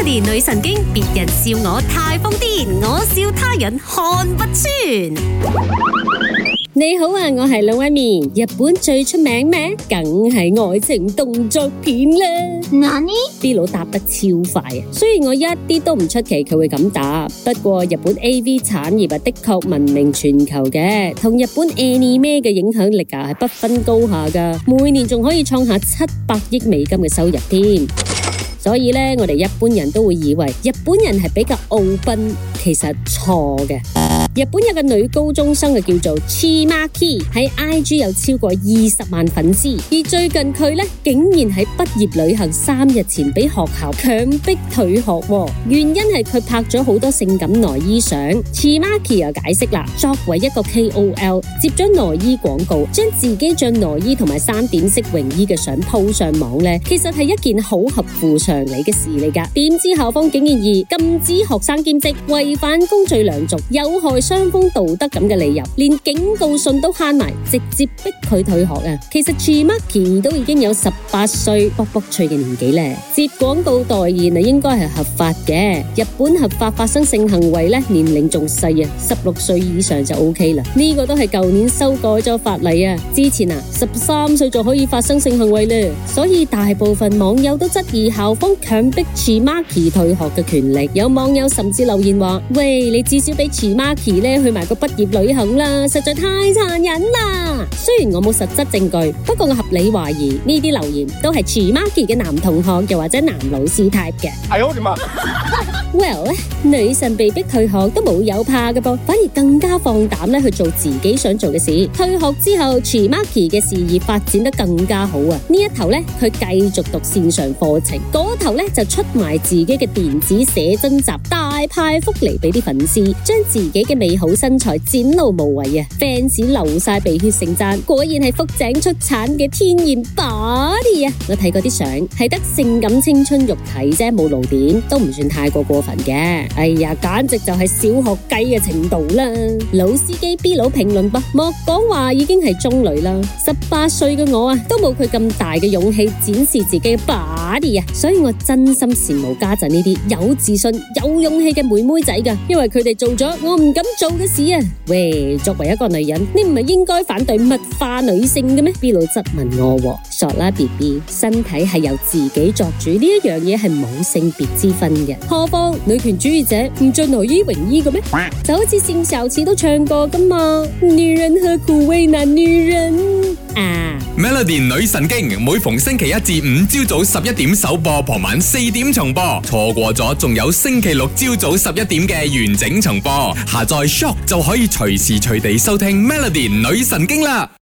Melody 女神經，別人笑我太瘋癲，我笑他人看不穿。 你好啊，我係老威面。日本最出名咩？梗係愛情動作片啦。 何 ？B 佬答得超快啊！雖然我一啲都唔出奇佢會咁答，不過日本 AV 產業的確聞名全球嘅，同日本 anime 嘅影響力係不分高下噶，每年仲可以創下700億美金嘅收入添。所以呢，我哋一般人都會以為日本人係比較傲奔，其實錯嘅。日本有個女高中生叫做 Chimaki， 喺 IG 有超過20萬粉絲，而最近佢呢，竟然喺畢業旅行3日前俾學校強迫退學，原因係佢拍咗好多性感內衣相。Chimaki 又解釋啦，作為一個 KOL 接咗內衣廣告，將自己着內衣同埋3點式泳衣嘅相 po 上網呢，其實係一件好合乎常理嘅事嚟噶。點知校方竟然以禁止學生兼職、違反公序良俗、有害雙方道德咁嘅理由，連警告信都慳埋，直接逼佢退學啊！其實 Chimaki 都已經有18歲卜卜脆嘅年紀咧，接廣告代言應該係合法嘅。日本合法發生性行為咧，年齡仲細啊，16歲以上就 OK 啦。呢個都係舊年修改咗法例啊，之前13歲就可以發生性行為咧，所以大部分網友都質疑校方強迫 Chimaki 退學嘅權力。有網友甚至留言話：喂，你至少俾 Chimaki 咧去埋個畢業旅行啦，實在太殘忍啦！雖然我冇實質證據，不過我合理懷疑呢啲留言都係 Chimaki 嘅男同學又或者男老師 type 嘅。 哎呦我的媽 ！Well 咧，女神被逼退學都冇有怕嘅噃，反而更加放膽咧去做自己想做嘅事。退學之後 Chimaki 嘅事業發展得更加好啊！呢一頭咧佢繼續讀線上課程，嗰頭咧就出埋自己嘅電子寫真集，大派福利俾啲粉絲，將自己嘅美好身材展露無遺啊 ！fans 流晒鼻血盛讚，果然係福井出產嘅天然 body 啊！我睇過啲相，係得性感青春肉體啫，冇露點，都唔算太過分嘅。哎呀，簡直就係小學雞嘅程度啦！老司機 B 佬評論噃，莫講話已經係中女啦，18歲嘅我都冇佢咁大嘅勇氣展示自己嘅 body 啊！所以我真心羨慕家陣呢啲有自信、有勇氣嘅妹妹仔噶，因為佢哋做咗我唔敢做嘅事啊！喂，作為一個女人，你唔係應該反對物化女性嘅咩 ？B 佬質問我，傻啦 BB， 身體係由自己作主，呢一樣嘢係冇性別之分嘅。何況女權主義者唔着內衣泳衣嘅咩？就好似性小詞都唱過噶嘛，女人何苦為難女人啊 ！Melody 女神經每逢星期1至5朝早11點首播，傍晚4點重播，錯過咗仲有星期六朝早11點嘅完整重播。下載 Shop 就可以隨時隨地收聽 Melody 女神經啦。